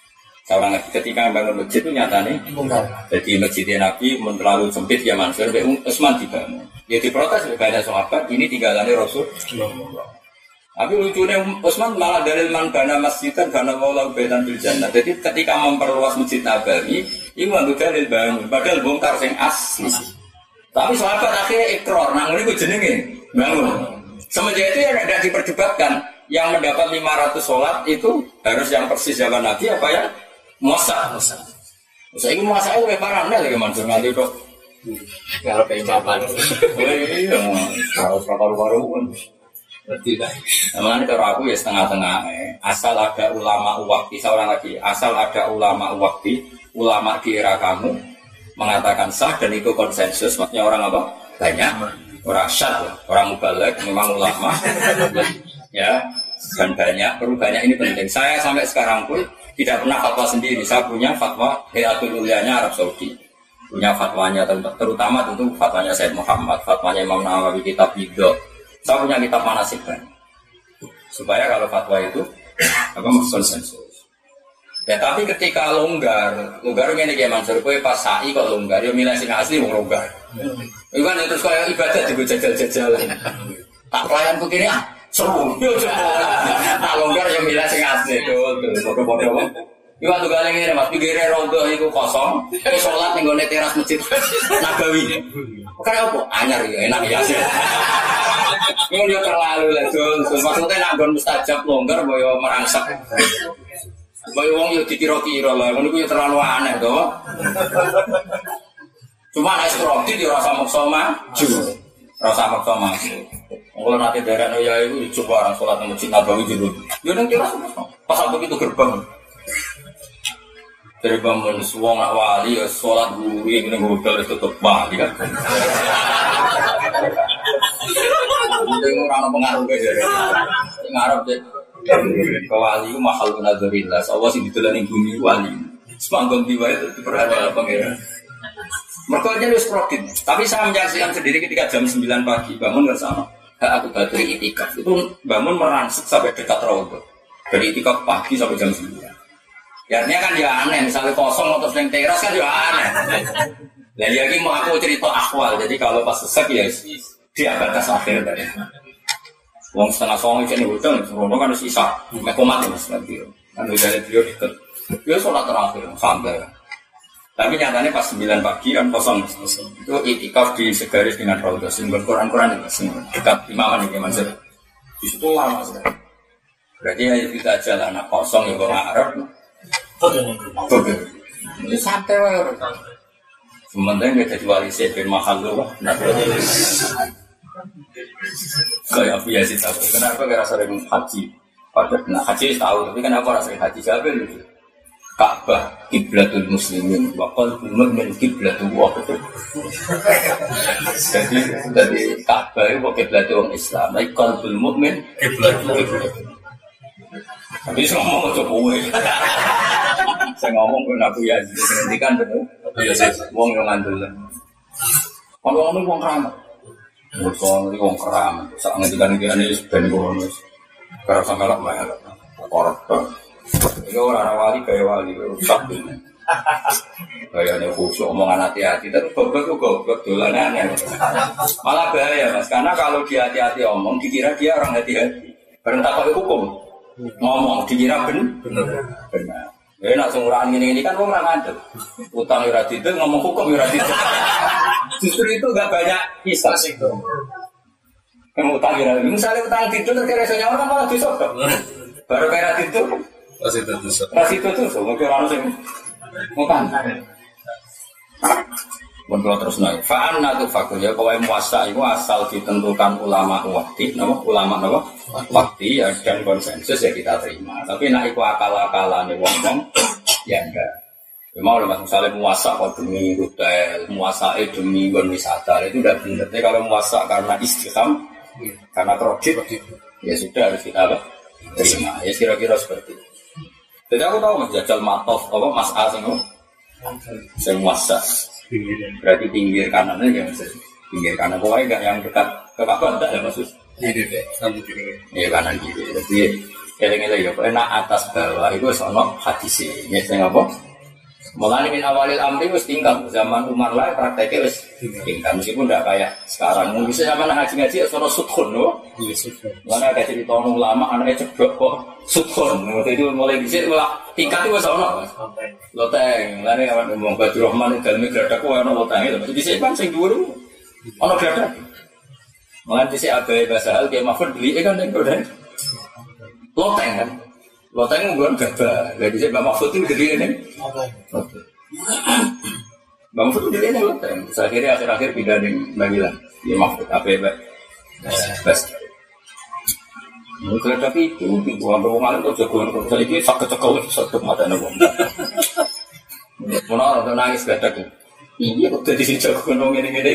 Seorang lagi ketika bangun masjid itu nyatanya jadi masjidnya Nabi terlalu sempit ya Mansur, Utsman dibangun. Dia diprotes banyak sahabat, ini tinggalannya Rasul. Tapi lucunya Utsman malah dalil man bana masjidan bana wallahu baitan bil jannah. Jadi ketika memperluas masjid Nabawi, itu nganggo dalil bangun, padahal bongkar sing asli. Tapi sahabat akhirnya ikrar, nang niku jenenge bangun. Semenjak itu ya tidak diperdebatkan. Yang mendapat 500 sholat itu harus yang persis zaman Nabi apa ya? Muasa. Saya ini muasa itu lebih parah nih lagi Mansur nganti dok. Kalau pengen jawaban. Iya, harus paru-paru pun. Berarti kan. Namanya kalau aku ya setengah-tengah. Asal ada ulama wakti, seorang lagi. Asal ada ulama wakti, ulama di era kamu mengatakan sah dan itu konsensus. Maksudnya orang apa? Banyak. Orang syad, orang mubalek, memang ulama. Ya, dan banyak ini penting. Saya sampai sekarang pun tidak pernah fatwa sendiri. Saya punya fatwa Hayatul Ulyanya Arab Saudi. Punya fatwanya terutama tentu fatwanya Said Muhammad, fatwanya Imam Nawawi kitab Bid'ah. Saya punya kitab manasik kan. Supaya kalau fatwa itu konsensus. Ya tapi ketika longgar ngene iki Mansur kowe pas sa'i kok longgar ya milih sing asli wong longgar. Iku kan terus kaya ibadah digo jajal-jajalan. Tak pelayan begini seru, yo coba. Tak longgar yang milih sing asli, bodoh-bodoh. Iku atuh galeng ngene Mas, pinggire rondo iku kosong, salat ning gone teras masjid Nabawi. Karena apa? Anyar ya, enak ya. Yo terlalu lah, maksudnya nak nggon mustajab longgar boyo merangsek. Boyo wong yo dikira-kira lah, ngono ku yo terlalu aneh to. Cuma nek roti yo rasa maksa maju. Rasa maksa maju. Kalau nanti daerah Noya itu coba orang sholat di masjid Nabawi dulu. Ya nanti rasa pas aku itu gerbang. Dari bangun suwong wali sholat dulu ini hotel itu tutup balik kan. Ini orang pengaruh aja. Ngarep deh. Kewali itu mahal benar-benar. Allah sih ditulani bumi wali. Semanggung tiba itu diperhatikan pangeran. Mereka aja harus produktif. Tapi saya menyaksikan sendiri ketika jam 9 pagi bangun bersama. Aku batu itikaf itu bangun merangsek sampai dekat rawat. Dari itikaf pagi sampai jam 9. Ya artinya kan ya aneh, misalnya kosong atau sering teras kan ya aneh. Dan lagi mau aku cerita akwal, jadi kalau pas sesek ya dia batas akhir tadi. Uang setengah song itu nih hotel, sebelumnya kan harus isa, mekomat mas lagi. Kan udah ada beliau deket, dia sholat terakhir sampai. Tapi nyatanya pas 9 pagi kan kosong. Itu itikaf di segaris dengan Raudhah, simbol Quran-Quran itu dekat imaman ini Mansur. Di situ lama sekali. Berarti ya kita jalan anak kosong ya kok ngarep. Ini santai wae. Sementara nggak jadi wali sebin mahal loh. Kayak apa ya sih tahu? Kenapa nggak rasa sering haji? Padahal nah haji tahu, tapi kenapa rasa sering haji Jabir gitu? Ka'bah kiblatul muslimin wa qalbul mu'min kiblatul wahid. Jadi Ka'bah itu kiblatul orang Islam, tapi qalbul mu'min kiblatul wahid. Tapi saya ngomong ke Jokowi. Saya ngomong ke Nabi Yazid, nantikan betul. Wong yang ngandul. Kalau ngomong wong keramat. Wong wong keramat. Saat nantikan ini ben bonus. Karena sangat banyak korban. Ini orang wali kayak wali rusak ini. Kayaknya khusyuk omongan hati-hati, tapi goblok dolanan. Malah bahaya mas, karena kalau dia hati-hati omong, dikira dia orang hati-hati. Bareng tak pakai hukum, ngomong dikira benar. Ya nak sumuraan ini kan orang ngandel. Utang yuradidil, ngomong hukum yuradidil. Justru itu gak banyak kisah sih. Kamu utang yuradidil, misalnya utang tidur, terkira-kira orang malah disodok. Baru kayak tidur. Masih itu, mungkin orang sih ngutang. Kalau terus naik, fa'an natu fakur ya, kalau muasa itu asal ditentukan ulama wakti, ulama wakti ya dan konsensus ya kita terima. Tapi nak itu akal-akalan wong-wong ya enggak. Memang oleh misalnya muasa kok demi hotel, muasa demi wisata itu udah benar. Tapi kalau muasa karena istiqam, karena kredit, ya sudah harus kita terima. Ya kira-kira seperti itu. Jadi aku tahu mas jajal matof, apa mas A saya muasa. Berarti pinggir kanannya ya mas. Pinggir kanan pokoknya enggak yang dekat ke Ka'bah enggak ya maksud. Iya kanan kiri. Jadi Eleng-eleng ya, enak atas bawah itu sono hadis ini. Saya ngapa? Mulai min awalil amri wis tinggal zaman Umar lah prakteknya wis tinggal meskipun tidak kayak sekarang. Mungkin zaman ngaji-ngaji sono sudkhun loh. Iya sudah. Mana ada cerita orang lama anaknya ceblok kok sudkhun. Waktu itu mulai dhisik tingkat itu wis ono. Loteng, lane awan ngomong Badru Rahman daleme gladak kok ono loteng itu. Dhisik kan sing dhuwur ono gladak. Mulai dhisik abae bahasa hal Kiai Mahfud beli kan ning kono. Loteng kan. Loteng nggon gabah. Lah dhisik Mbak Mahfud itu gede ning. Mbak Mahfud itu gede ning loteng. Akhirnya akhir-akhir pindah ning Magelang. Kiai Mahfud abae bas. Mungkin tapi itu bukan ruangan itu jagoan kalau saya ini sakit cekal satu mata nabung. Mana orang nangis gadak ni. Iya waktu di sini jagoan orang ini.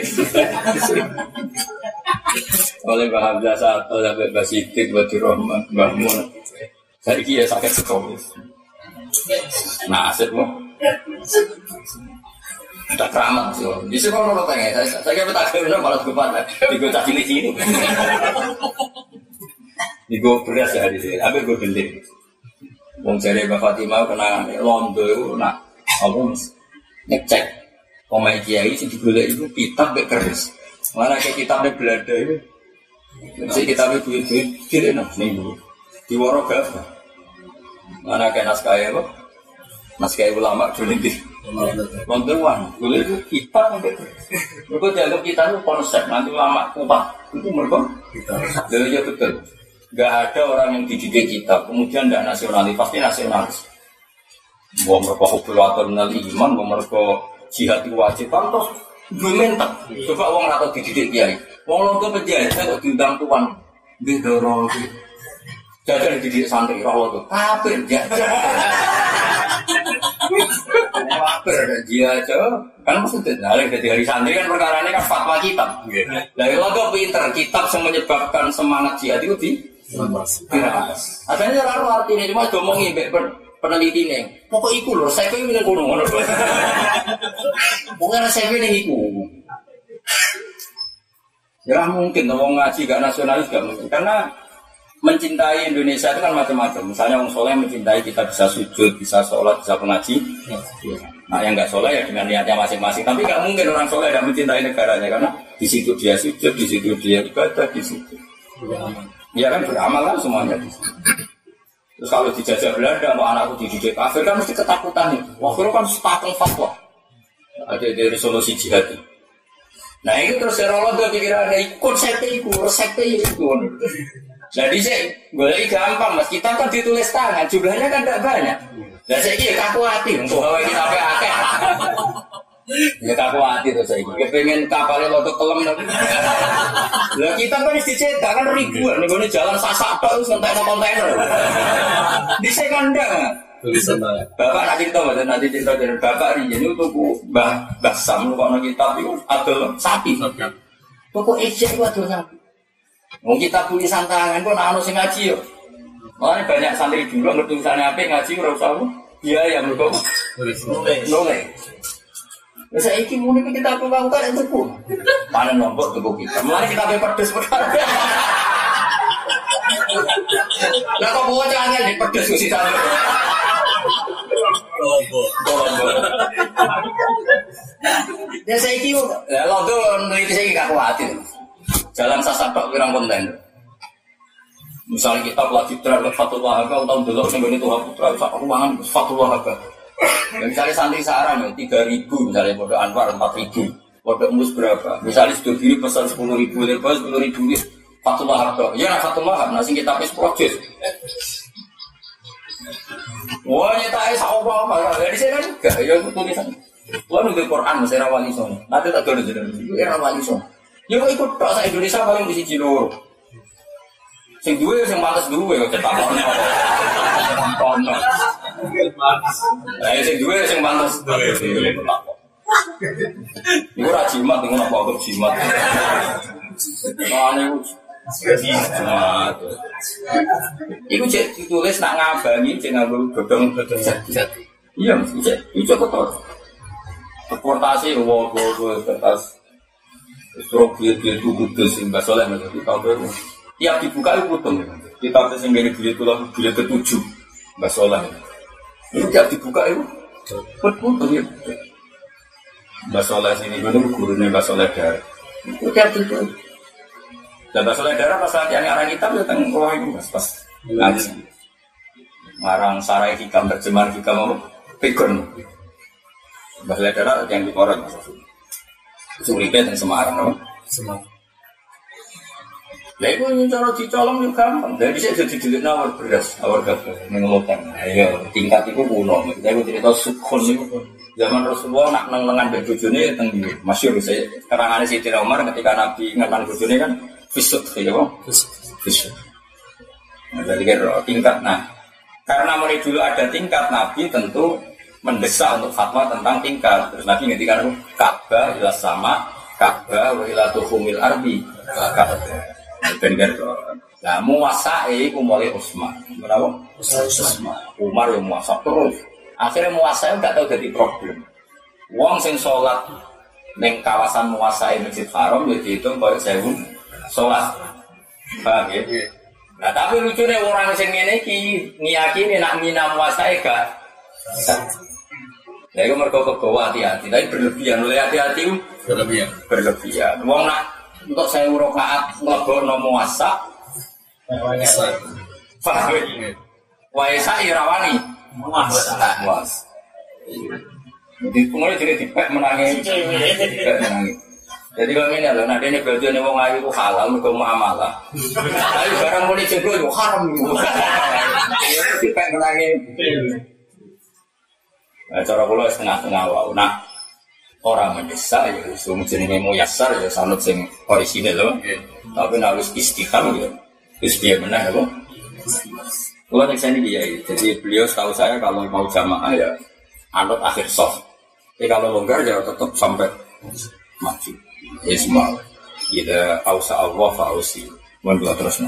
Oleh bahagia satu sampai basitik buat Rahman bangun. Saya ini sakit cekal. Nah asyik mu. Ada keramat sih. Di sini kalau orang tanya saya kira tak kena malah kepada tiga cacing di sini. Ini gue beras ya di sini, tapi gue beli. Wong jare Mbak Fatimah kenangan Londo itu nak apa ngecek pemain kiai sing digolek itu kitab mek keris. Mana ke kitab mek Belanda itu. Si kitab itu kira-kira nih di waro gafah. Mana ke naskah apa? Naskah ulama dulu di Londo wan, golek itu kitab mek keris. Mergo dianggap kitab itu konsep nanti ulama kupat. Itu mergo kitab. Jadi betul. Gak ada orang yang dididik kitab, kemudian tidak nasionalis, pasti nasionalis. Mau mereka hubulator menali iman, mau mereka jihad wajib, terus gue mentak. Coba orang atau dididik kiai, orang itu penjahit, saya kok diundang tuan, bidorong, jaga dididik santri, roh itu, kafir, jaga. Kafir, dia aja, kan maksudnya, dari hari santri kan perkara ini kan fatwa kitab. Dari lo tuh pinter, kitab yang menyebabkan semangat jihad itu di adanya lalu artinya cuma ngomongin peneliti nih pokok iku loh saya pengen ngomong bukan saya pengen iku ya mungkin ngomong ngaji gak nasionalis gak mungkin karena mencintai Indonesia itu kan macam-macam misalnya orang soleh mencintai kita bisa sujud bisa sholat bisa pengaji nah yang gak soleh ya dengan niatnya masing-masing tapi gak mungkin orang soleh tidak mencintai negaranya karena di situ dia sujud di situ dia ibadah di situ ya kan beramal kan semuanya. Terus kalau dijajah Belanda, mau anakku dididik kafir kan mesti ketakutan nih. Waktu kan sepatung fatwa. Ada dari solusi jihad. Nah ini terus serolot dia pikiran ada konsepnya itu, resepnya itu. Nah di sini boleh gampang mas. Kita kan ditulis tangan, jumlahnya kan tidak banyak. Nah saya kira kaku hati untuk bawa kita pakai. Ya kaku hati tuh saya kira. Pengen kapalnya untuk kelem. Lah kita kan dicetak kan ribuan nih gue jalan sasak terus kontainer. Di sekandang. Bapak nanti cerita dari bapak ini itu tuh Mbah Sam lu kalau kita itu ada sapi. Pokok ejek itu ada sapi. Mau kita tulis tangan pun anu sing ngaji yo. Makanya banyak santri dulu ngerti tulisannya apa ngaji ora usah biaya mergo nulis. Saya iki muni kita perlu lakukan itu pun. Panen nombok tubuh kita. Mulai kita pedes perkara. Lah kok bawa jangan di pedes ku sisa. Nombok. Ya saya iki ya londo neliti saya gak kuatir. Jalan sasapak pirang konten. Misalnya kita lagi terhadap Fatullah Haka tahun dulu yang itu Tuhan ruangan Fatullah Haka. Ya, misalnya santri saran 3.000 misalnya bodoh Anwar 4.000 bodoh Mus berapa misalnya sudah diri pesan 10.000 lepas 10.000 Fatullah Haka ya Fatullah Haka nasi kita pes proses wah nyata apa dari saya kan juga ya tulisan wah nunggu Quran masih rawali son nanti tak ada jadi rawali son ya kok ikut tak saya Indonesia paling di sini lho sing duwe sing pantes duwe kok cetak kono. Lah sing duwe sing pantes duwe. Iku ra jimat ngono apa kok jimat. Soale jimat. Iku cek ditulis nak ngabangi cek nganggo godhong-godhong jati. Iya mesti cek iku betul. Deportasi wo kertas. Stroke itu kudus sing basoleh mesti tahu. Tiap dibuka itu putung. Kita tes yang dari beliau ke-7 Mbak Soleh. Ini tidak dibuka itu. Betul ya. Mbak Soleh sini itu gurunya Mbak Soleh Darah. Itu tidak dibuka. Dan Mbak Soleh Darah pas latihan arah kita datang ke itu pas ngaji. Marang sarai hikam terjemahan hikam apa? Pegon. Mbak Soleh Darah yang dikorek. Suripet dan Semarang apa? Semarang. Lah itu cara dicolong juga gampang. Dari bisa jadi dilik nawar beras, nawar gabah, mengelutan. Ayo, tingkat itu kuno. Kita itu cerita sukhon itu. Zaman Rasulullah nak neng-nengan berbujune teng masyhur saya keterangannya Sayyidina Umar ketika Nabi ngenang bujune kan fisuk ya apa? Fisuk. Nah, jadi kan tingkat. Nah, karena mulai dulu ada tingkat, Nabi tentu mendesak untuk fatwa tentang tingkat. Terus Nabi ngendikan Ka'bah ila sama, Ka'bah wa ila tuhumil ardi. Ka'bah. Bener kok. Lah muwasae iku mulai Utsman. Kenapa? Utsman. Umar yang muasa terus. Akhirnya muwasae enggak tahu jadi problem. Wong sing salat ning kawasan muwasae Masjid Haram ya dihitung koyo 1000 salat. Paham ya? Nah, tapi lucunya orang sing ngene iki ngiyakine nak mina muwasae gak. Ya iku mergo kegawa hati-hati, tapi berlebihan. Oleh hati-hati berlebihan. Wong nak untuk saya rakaat nglebokno muasa. Paham ya? Waisa irawani muasa. Jadi kemudian jadi dipek menangi. Jadi kalau ini adalah nanti ini berarti ini wong ayu itu halal untuk muamalah. Tapi barang mau dicebol itu haram. Dipek menangi. Cara kula setengah-setengah wae. Nah, orang mendesak ya, semua jenisnya mau yasar ya, sanut sing orisinil loh. Tapi harus istiqam ya, istiqam benar ya, kalau yang saya ini dia, jadi beliau setahu saya kalau mau jamaah ya, anut akhir soft. Tapi kalau longgar ya tetap sampai maju. Ya semua, kita ausa Allah fausi, menduat terusnya.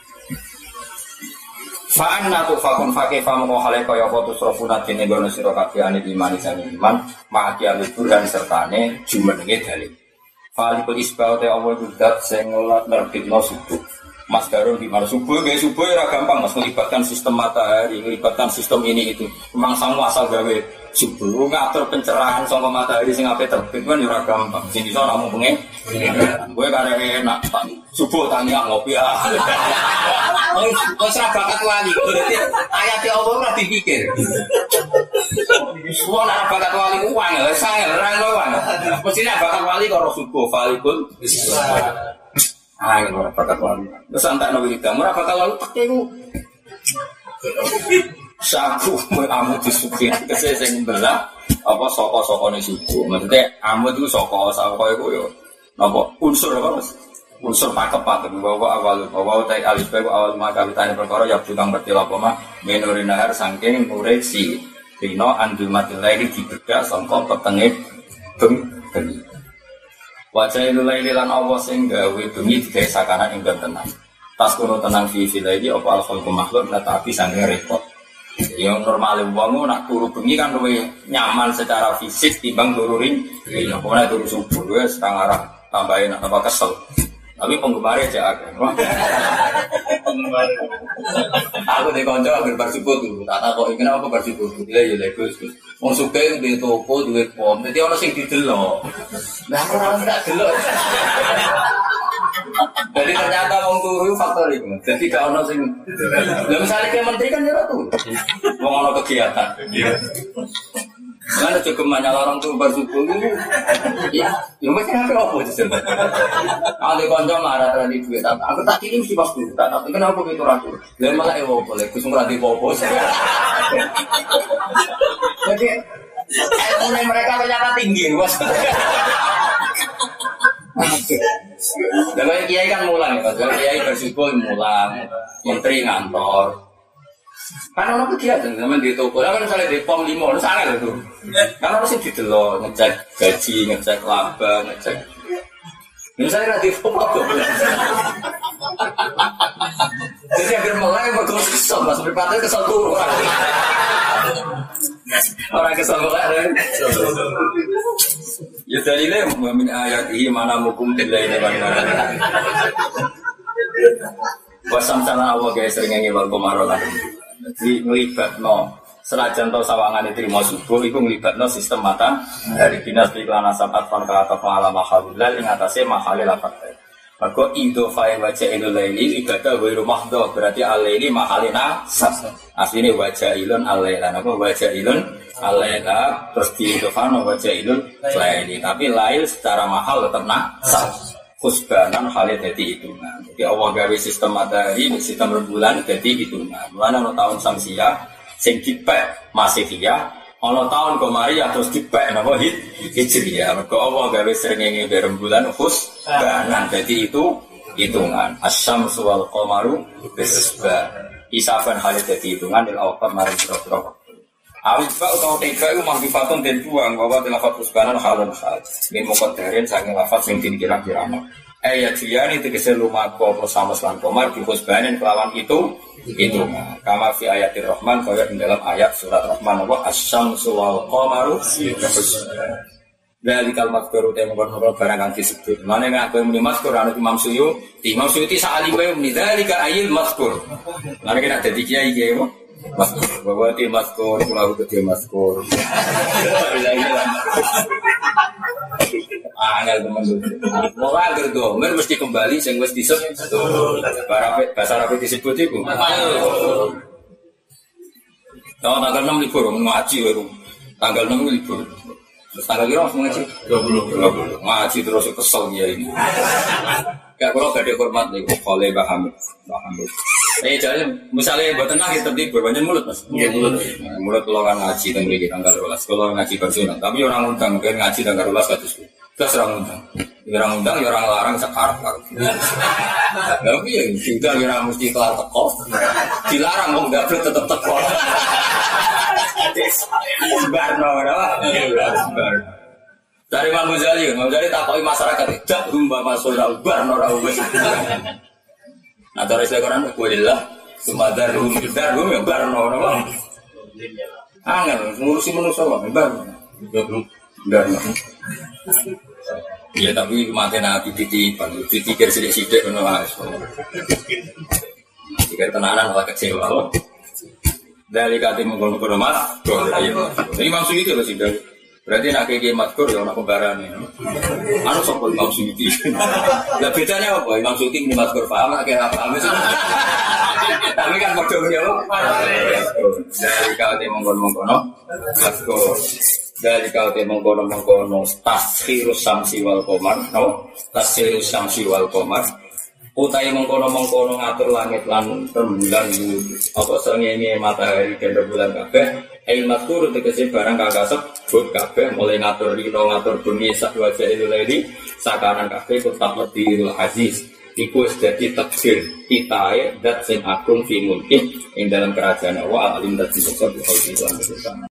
Fa'an natu fakun fakih famu kohale kaya foto srofuna dene gono sira kabeh ane iman isane iman maki alibur dan sertane jumenenge dalil. Falikul isbau te awal kudat sing nerbitno subuh. Mas Darul gimana subuh ora gampang Mas melibatkan sistem matahari, melibatkan sistem ini itu. Memang semua asal gawe subuh ngatur pencerahan saka matahari sing ape terbit kan ora gampang. Sing iso namung pengen. Kowe karek enak subuh tanya ngopi ya. Wis ra bakat wali. Berarti ayat Allah ora dipikir. Semua ora bakat wali uang ya, sangar ora ngono. Mesti bakat wali karo subuh falikul. Ora bakat wali. Terus antakno wiridan, ora bakat wali peke ku. Saku amu disuki kese sing belah apa saka-sakane subuh. Maksudnya amu itu saka iku yo napa unsur apa Mas? Unsur pakepat bahwa awal tai alif awal maka ditanya perkara ya tukang bertil apa mah menorinahar saking koreksi dino andul mati lain dibedak sangka petenge bengi wajah lain lan Allah sing gawe bengi digawe sakanan ing tenang tas kono tenang fi lagi apa alfal makhluk tapi sange repot yang normal wong nak turu bengi kan luwih nyaman secara fisik timbang turu ring ya pokoknya turu subuh wis setengah arah tambahin apa kesel. Tapi penggemarnya aja agak. Penggemar. Aku di konco hampir bersyukur tuh. Tak tahu kok kenapa aku bersyukur. Bila ya legus. Wong suka di toko duit pom. Jadi orang sing didelok. Nah orang tak delok. Jadi ternyata wong turu faktor itu. Jadi gak ono sing. Lah misalnya ke menteri kan ya tuh. Wong ono kegiatan. Mana cukup banyak orang tuh bersyukur itu, ya, yang macam apa sih? Ada konco marah tadi duit, aku tak kirim sih pas dulu, tapi kenapa gitu ragu? Dia malah boleh, kusung rati popo. Jadi, mulai mereka ternyata tinggi, bos. Kalau kiai kan mulang, kalau kiai bersyukur mulang, menteri ngantor. Kan orang kegiatan zaman di toko, kan misalnya di pom 5, itu sangat itu. Kan orang sih didelok, ngecek gaji, ngecek laba, ngecek. Misalnya di pom apa? Jadi agar mulai bagus kesel, mas berpatah kesel turun. Orang kesel mulai. Ya dalilnya min ayat ini mana mukum tidak ini mana. Wasam sana Allah guys sering ngewal komarolan. Jadi ngelibatno senajan to sawangan diterima subuh iku ngelibatno sistem mata dari dinas iklan asapat fan kata pengalaman halal ing atase mahalil lafat. Maka idhofai wajailul laili ibadah wa rumahdo berarti alaili mahalina sab. Asline wajailun alaila apa wajailun alaila terus diidhofano wajailul laili tapi lail secara mahal tetap sab. Khusbanan halnya jadi hitungan. Jadi Allah gawe sistem matahari, sistem rembulan jadi hitungan. Mulanya ada tahun Samsiah, sing dipek Masihiyah, ada tahun Komariah terus dipek nama Hijriyah. Maka Allah gawe srengenge rembulan khusbanan jadi itu hitungan. Asyamsu wal qamaru bisbah. Isaban halnya jadi hitungan dan awal maring biro-biro. Awit pak atau tiga itu mahdifatun dan buang bahwa lafaz khusbanan halun hal. Ini muqaddarin saking lafaz sing dikira-kira. Ayat dia ini tegese lumaku bersama selan komar di khusbanin kelawan itu. Kama fi ayatir Rahman kaya di dalam ayat surat Rahman wa asyamsu wal qamaru bisbah. Dari kalimat kuru temu kono barang kang disebut. Mane nek kowe muni mazkur ana Imam Suyuti. Imam Suyuti saali wae muni dzalika ayil mazkur. Mane kena dadi kiai kiai Maskur, bahwa tim maskur, pulau kecil maskur. Angel teman-teman. Mau agar domer mesti kembali, sing wis disebut. Bahasa Arab disebut itu. Tahu tanggal 6 libur, ngaji baru. Tanggal 6 libur. Terus tanggal kira harus ngaji? 20. Ngaji terus kesel dia ini. Kayak kalau gak ada hormat nih, oleh Mbah Hamid. Jadi misalnya buat tenang kita tertib berbanyak mulut mas. Iya mulut. Mulut kalau kan ngaji tanggal 12. Kalau ngaji personal, tapi orang undang kan ngaji tanggal 12 katus. Terus orang undang, orang larang sekarang. Tapi ya sudah orang mesti kelar teko. Dilarang mau nggak boleh tetap teko. Barno, dari Imam Ghazali takoi masyarakat tidak rumba masuk barno rawes. Nah, dari sekarang kulilah sumadarum yang barno nama. Angel ngurusi manusia barno. Ya tapi mati nabi titikir sidik kono wis. Titikir tenanan ora kecewa. Dari kate mengkono-kono mas, jadi maksud itu lho sih. Berarti nak kayak matkur ya orang pembarannya. Anu sopol Imam Suyuti. Lah bedanya apa? Imam Suyuti ini matkur paham kayak apa? Tapi kan bodoh ya lo. Dari kate mengkono-kono matkur. Dari kate mengkono-kono taskhirus samsi wal qamar, no? Taskhirus samsi wal qamar. Utai mengkono-mengkono ngatur langit lan rembulan apa srengenge matahari dan rembulan kabeh ail mazkur tegese barang kakasep sebut kabeh mulai ngatur rino ngatur bumi sak wajah ilahi sakanan kabeh tetap medhil aziz iku wis dadi takdir kitae dat sing agung fi mulki ing dalam kerajaan Allah alim dadi sebab